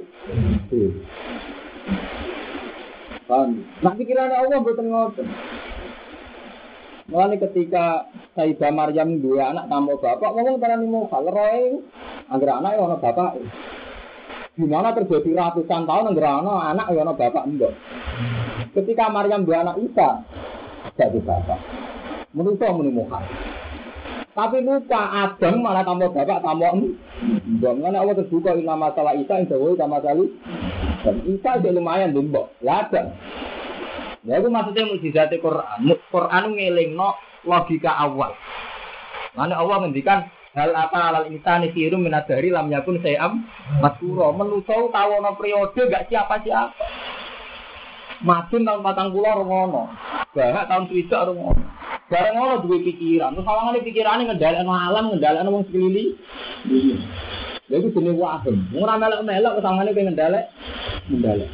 Speaker 2: Kan, nak pikirannya Allah betul ngotot. Mulai ketika Sayyidah Maryam dua anak tambah bapak, ngomong darah ini mau kalau roy, agar anak yang bapak. Gimana terjadi ratusan tahun agar anak yang bapak enggak. Ketika Maryam dua anak Isa, jadi bapak. Menurut saya menemukan. Tapi lupa Adam malah tambah bapak tambah em. Jangan Allah terbuka ini masalah Isa yang jauh sama sekali. Dan Isa itu lumayan dimbok. Ya ada. Ya itu maksudnya mukjizat Quran. Quran ngelingno logika awal. Karena Allah ngendikan hal apa alal insani khirum min adhari lam yakun sayam maskura. Manusa tahu ana periode gak siapa-siapa. Madun tahun patang puluh ngono. Bahak tahun swidak ngono. Bareng ngono duwe pikiran. Terus sawangane pikirane ngendhalekno alam, ngendhalekno wong sekeliling. Lha iku jenenge waham. Ora melok-melok sawangane pengen ngendhalek. Ngendhalek.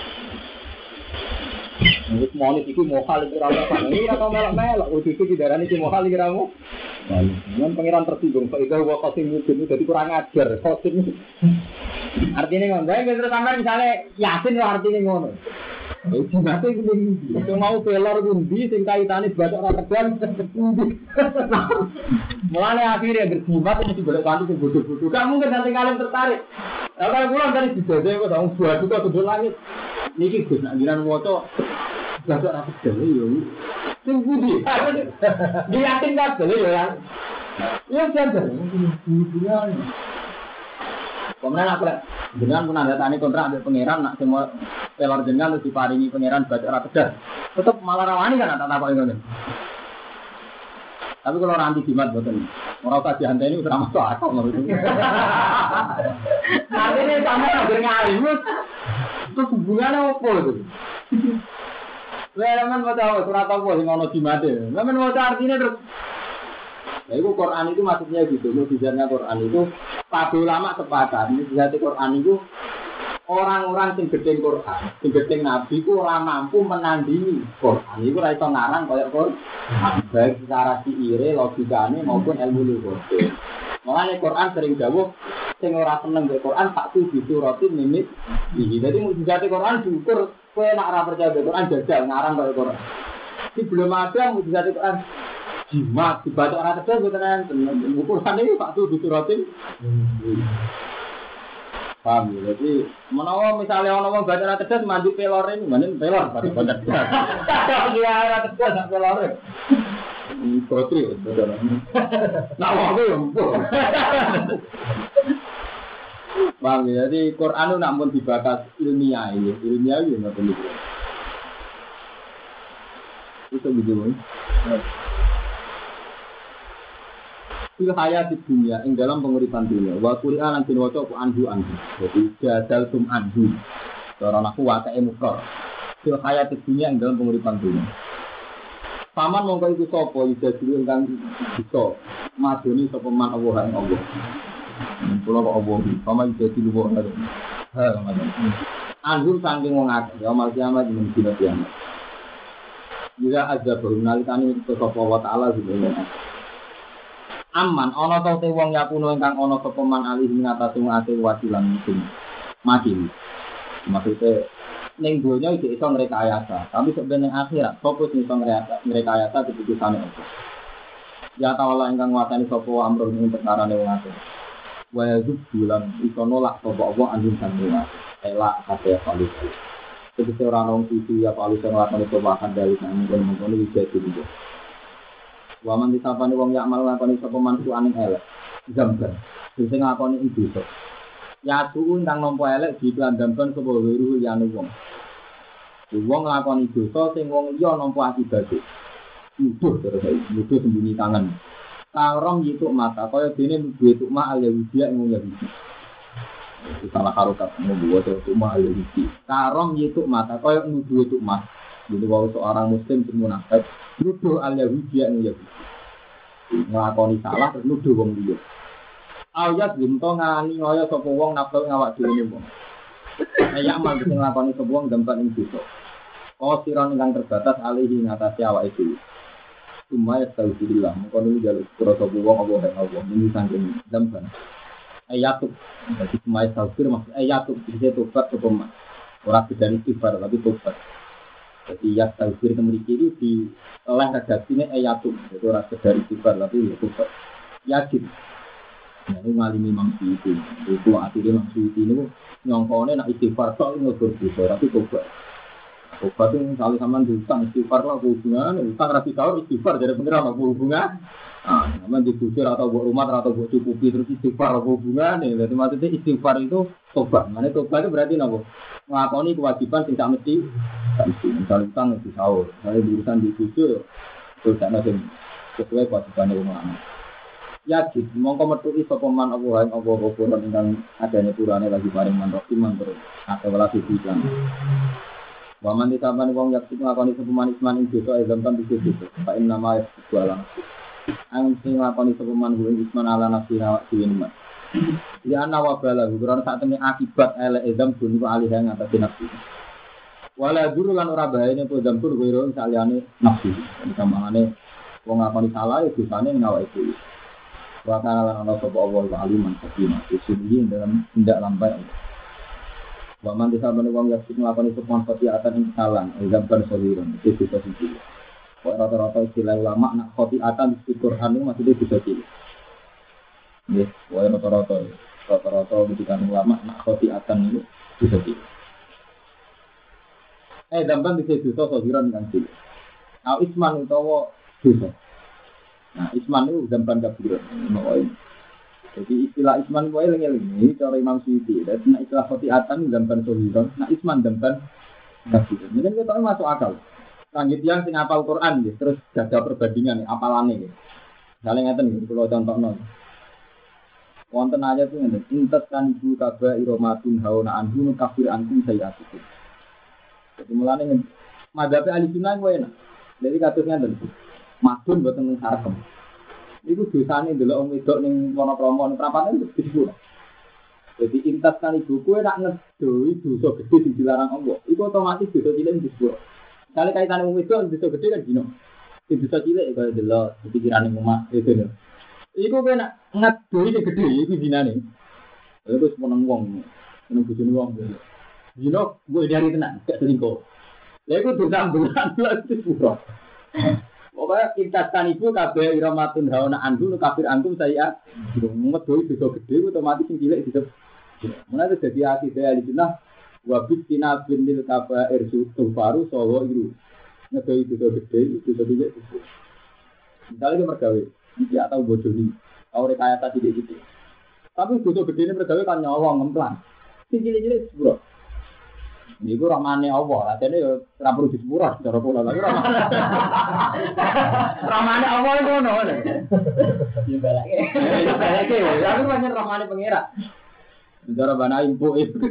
Speaker 2: Wis monis iku mohal iki ora apa. Ini ora melok-melok. Wis iki didarani iki mohal iki ramu. Lan pangeran tersinggung. Kok iku wa qasim mudun dadi kurang ajar. Qasim. Artine ngono. Bae terus sampean misale yasin lho artine ngono. Itu nanti itu mau pelor undi sing kaitane batok ora kedan. Mulane akhirnya berjimat mesti golek kanthi sing bodoh-bodoh. Gak mungkin nanti kalian tertarik. Kalau kula dari dijajah kok dong buat juga kudu langit. Niki Gus nak ngiran waca batok ora kedan yo. Sing pundi? Diyakin kabeh yo ya. Ya jangan. Kemudian aku lihat, dengan menandatangani kontrak dengan pangeran, nak semua pelor jenengan terus diparingi pangeran baca ora tegas. Tetap malah rawani kan tak takok ngono. Tapi kalau orang anti jimat boten. Ora usah dianteni wis ora masuk akal ngono itu. Artinya sampe anggere ngalim. Itu hubungannya opo itu? Lah men waca surat apa sing ono jimate. Lah men waca artine terus nah, itu Quran itu maksudnya gitu, mukjizatnya Quran itu para ulama sepakat, mukjizat Quran itu orang-orang yang gedeng Quran, yang gedeng Nabi itu ora mampu menandingi Quran. Itu ora iso ngarang kaya Quran, baik secara siire, logikane maupun ilmu lughate. Makanya Quran sering dawuh sing ora seneng karo Quran tak tuh disuratin mimit. Jadi mukjizat Quran diukur kowe nek ora percaya Quran jajal ngarang kaya Quran. Di belum ada mukjizat Quran jimat dibaca orang tegas betul kan ukuran ini pak tuh disuratin paham ya jadi menawa misalnya orang baca orang tegas mandi pelor ini mana pelor pada baca tegas dia orang tegas tak pelor ini protri betul nak waktu yang paham ya jadi Quran itu namun dibakas ilmiah ini ilmiah ini nggak perlu itu begitu fil hayati dunia ing dalam penguripan dunia wa Qur'an lan diwaca ku anhu anhu jadi jadal tum anhu cara aku wae mufrad fil hayati dunia ing dalam penguripan dunia paman mongko iku sapa ida dulu ingkang bisa madoni sapa man Allah ing Allah kula kok Allah paman ida dulu kok ha anhu saking wong akeh ya mal kiamat ing dina kiamat jika azab nalikane sapa wa taala dene aman ana ta te wong yakuno ingkang ana sapa man alih ing atase ate wasilan musim mati maksude ning donya iki iso ngrekayasa, tapi sebenarnya akhirat fokus iso ngrekayasa, ngrekayasa keputusane Allah. Ya ta'ala ingkang nguasani sapa amrun ing perkarane wong akeh. Wa yazub bulan iso nolak sapa Allah anjing sanjungan. Elak kabeh palu. Sebab ora ono sisi ya palu sing lakoni perubahan dari nang mungkon iki jadi. Wa man disapane wong yak mal lakoni sapa mantu aning elek. Zamban. Sing ngakoni iki iso. Ya tuun kang nampa elek diplandhamkan sapa weruh liyane wong. Wong nglakoni dosa sing wong liya nampa akibate. Nuduh terus nuduh sembunyi tangan. Karom yituk mata kaya dene duwe tuk mak al-Yahudi ing wong Yahudi. Salah harokat membuat tuk mak al-Yahudi. Karom yituk mata kaya nuduh tuk mak. Jadi kalau seorang muslim sing munafik nuduh al-Yahudi ing Yahudi. Nglakoni salah terus nuduh wong liya. Ayat ginto ngani kaya sapa wong nafsu ngawak dhewe wong. Nek amal sing nglakoni sapa wong dampak ing dosa. Oh siron ingkang terbatas alihi ngatasi awake dhewe. Cuma ya tahu dirilah, mungkin ini jalur kerasa buang Allah dan Allah ini sangking dampan. Ayatuk, jadi cuma ya tahu diri maksud ayatuk bisa tobat ke pemak. Orang tidak istighfar tapi tobat. Jadi ya tahu diri memiliki itu di oleh redaksinya ayatuk, jadi orang tidak istighfar tapi ya tobat. Yakin. Nah ini malimi mampu itu, itu akhirnya mampu itu ini nyongkone nak istighfar soal ngobrol bisa tapi tobat. Obat itu misalnya sama diutang istighfar lah hubungan, utang rapi sahur istighfar jadi pengiran apa hubungan? Ah, nama dibujur atau buat rumah atau buat cukupi terus istighfar apa hubungan? Nih, jadi maksudnya istighfar itu tobat. Mana tobat itu berarti nabo ngakoni kewajiban tidak mesti, misalnya utang rapi sahur, misalnya urusan dibujur, terus ada yang sesuai kewajiban rumah. Yakin, mongko metu iso peman Allah yang Allah roboran dengan adanya purane lagi paring manrokiman terus atau lagi bilang. Waman ditamani wong yak nglakoni sepeman isman ing dosa izam kan bisa dosa. Fa inna ma yasbuala. Ang sing nglakoni sepeman kuwi isman ala nafsi awak dhewe nimat. Ya ana wa bala guron sak temene akibat elek izam dun ku alih ing atas nafsi. Wala duru lan ora bahayane po izam pun kuwi ron saliyane nafsi. Samangane wong nglakoni salah ya dosane ning awake dhewe. Wa kana lan ana sapa Allah wa aliman hakim. Sesungguhnya dalam tindak lambai Waman disabani wong yak sing nglakoni sepon khotiatan ing kesalahan, example soliron, itu bisa siji. Kok rata-rata istilah ulama nak khotiatan di Quran itu maksudnya bisa siji. Nggih, wae rata-rata rata-rata ketika ulama nak khotiatan itu bisa siji. Eh, dampan bisa dosa soliron kan siji. Nah, isman utawa dosa. Nah, isman itu dampan kabiran. Nah, jadi istilah isman wae eling-eling ini cara Imam Suyuti. Dan istilah khotiatan dampan soliron, nah isman dampan kabiran. Mungkin kita masuk akal. Lanjut yang sing hafal Quran ya, terus jaga perbandingan apalane ya. Misalnya ngeten iki kula contohno. Wonten ayat itu ngene, intas kan ibu kaba iromatun hauna anhu kafir antum sayyatikum. Jadi mulane madhabe ahli sunnah wae enak. Jadi kados ngeten. Madun boten sarkem. Iku dosane ndelok wong wedok ning Wonopromo ning prapatan itu disebut. Jadi intas kan ibu kowe nak ngedoi dosa gede sing dilarang Allah. Iku otomatis dosa cilik disebut. Kali kaitan wong wedok dosa gede kan dino. Sing dosa cilik kaya delok pikirane omah itu lho. Iku kowe nak ngedoi sing gede iku dinane. Terus meneng wong, meneng bojone wong. Dino gue dari tenan, gak selingkuh. Lha iku dosa ambulan lha disebut. Pokoknya intaskan ibu kabeh iramatun hauna andu kafir antum saya ngedoi dosa gede otomatis sing cilik disebut. Mulane dadi ati daya lijnah wa bitina binil kabair sufaru sawa iru. Ngedoi dosa gede dosa cilik disebut. Misalnya mergawe, ya tahu bojone, tahu rekayasa cilik-cilik. Tapi dosa gedene mergawe kan nyolong ngemplang. Sing cilik-cilik disebut. Niku rahmane Allah, atene yo ora perlu disepuro cara kula lha rahmane. Rahmane Allah ngono lho. Yo balake. Yo balake, lalu pancen rahmane pangeran. Cara bana impu itu.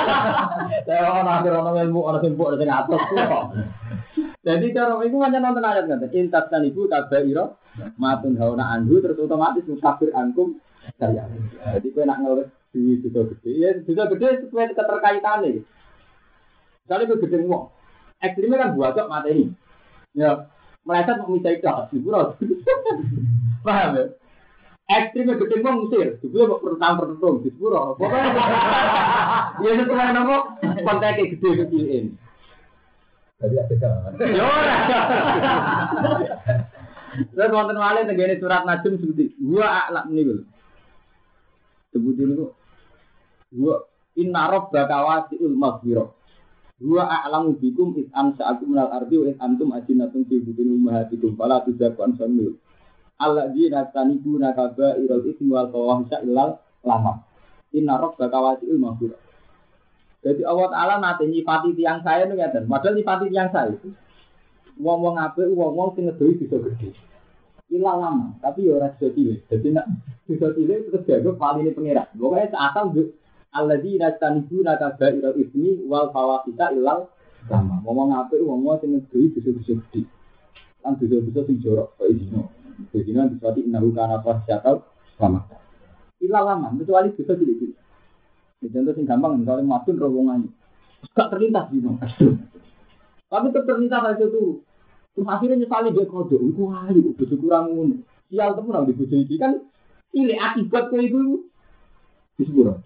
Speaker 2: Saya ana akhir ana ilmu ana impu ana sing atos kok. Jadi cara iku pancen nonton ayat ngoten. Intas kan ibu kabaira matun hauna anhu terus otomatis musafir ankum saya. Jadi kowe nak ngeles duwi dosa gede, ya dosa gede sesuai keterkaitane. Kalau itu gede ngomong, ekstrimnya kan buat kok materi. Ya, meleset mau minta ikhlas, ibu ros. Paham ya? ekstrim gede wong Mesir, jebule kok pertang pertung di sepuro. Pokoke ya sesuai nopo konteke gede kecilin.
Speaker 1: Jadi ada jalan.
Speaker 2: Yo ora. Terus wonten malih tenggene surat Najm sebuti wa a'lam niku. Sebuti niku wa inna rabbaka wasi'ul maghfirah. Wa a'lamu bikum id ansa'akum minal ardi wa id antum ajinatun fi butuni ummahatikum fala tuzakku anfusakum. Alladzina tanibuna kaba'irul itsmi wal fawahisha illal lamam. Inna rabbaka wasi'ul maghfirah. Jadi Allah Ta'ala nate nyifati tiyang saya itu ngeten. Padahal nyifati tiyang saya itu wong-wong apik, wong-wong sing ngedoi bisa gede. Illal lamam, tapi ya ora bisa cilik. Jadi nek bisa cilik terus dianggap paline pangeran. Pokoke asal alladzina tanibuna kaba'irul itsmi wal fawahisha illal lamam. Wong apik, wong-wong sing ngedoi bisa bisa gede. Lan bisa-bisa sing jorok kaya dino. Bagaimana disebut innahu kana fasyaqal lama. Ilah lama, kecuali bisa cilik-cilik. Ya contoh sing gampang misalnya madun rombongan. Gak terlintas dino. Tapi tetap terlintas aja tuh. Terus akhirnya nyesali dia kodok. Iku ayu, bojo kurang ngono. Sial temen nang bojo iki kan cilik akibat kowe iku. Wis pura.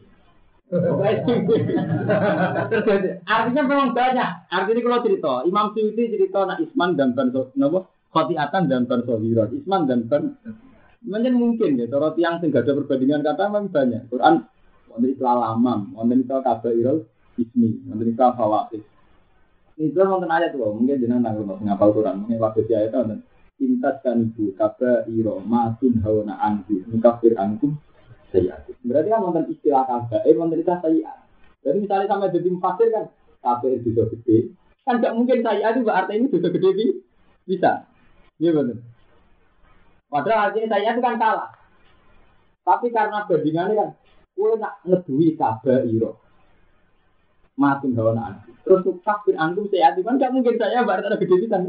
Speaker 2: Artinya memang banyak. Artinya kalau cerita, Imam Suyuti cerita nak Isman dan Ban napa? Khotiatan dan Ban Sohirat, Isman dan Ban. Mungkin mungkin ya, kalau tiang sing gak ada perbandingan kata memang banyak. Quran wonten istilah lamam, wonten istilah kabairul ismi, wonten istilah fawaid. Itu wonten ayat tuh, mungkin jenengan nanggung ngapal Quran, mungkin waktu si ayat wonten intas kan ibu kabairo matun hawana anhu mukafir ankum sayyid. Berarti kan wonten istilah kabair, wonten istilah sayyid. Jadi misalnya sampai jadi mufasir kan kabair bisa gede, kan gak mungkin sayyid itu artinya ini bisa gede bisa. Iya betul. Padahal artinya saya itu kan salah. Tapi karena bandingannya kan, gue nak ngedui kabairo, matun hawa naan. Terus kafir antum saya itu kan gak mungkin saya berarti ada gede bisa.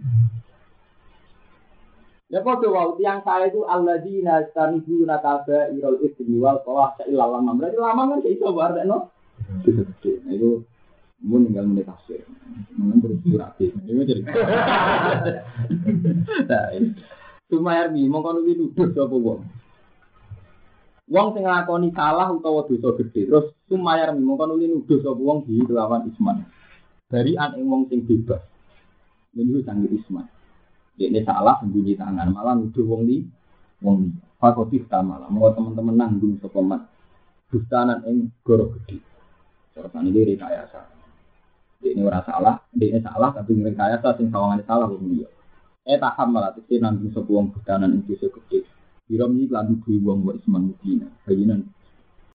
Speaker 2: Ya kok wow, tiang saya itu alladzina tanibuna kabairul itsmi wal fawahisha illal lamam. Berarti lamam kan iso berarti no. Gede. Nah itu mun tinggal menit tafsir. Mun terus berarti. Ini jadi. Nah, Sumayar bi mongko nuwi nuduh sapa wong. Wong sing nglakoni salah utawa dosa gedhe, terus Sumayar bi mongko nuwi nuduh sapa wong di kelawan isman. Barian ing wong sing bebas. Niku sanggih isman. Dekne salah sembunyi tangan, malah nuduh wong li wong li. Fakotif ta malah mongko teman-teman nanggung sapa mat. Dustanan ing goro gedhe. Terus iki rekayasa. Ini ora salah, ini salah tapi rekayasa sing sawangane salah wong liya. Eh taham malah tekse nanggung sapa wong budanan ing dosa gedhe. Biro iki lan duwe wong wa isman mudina. Bayinan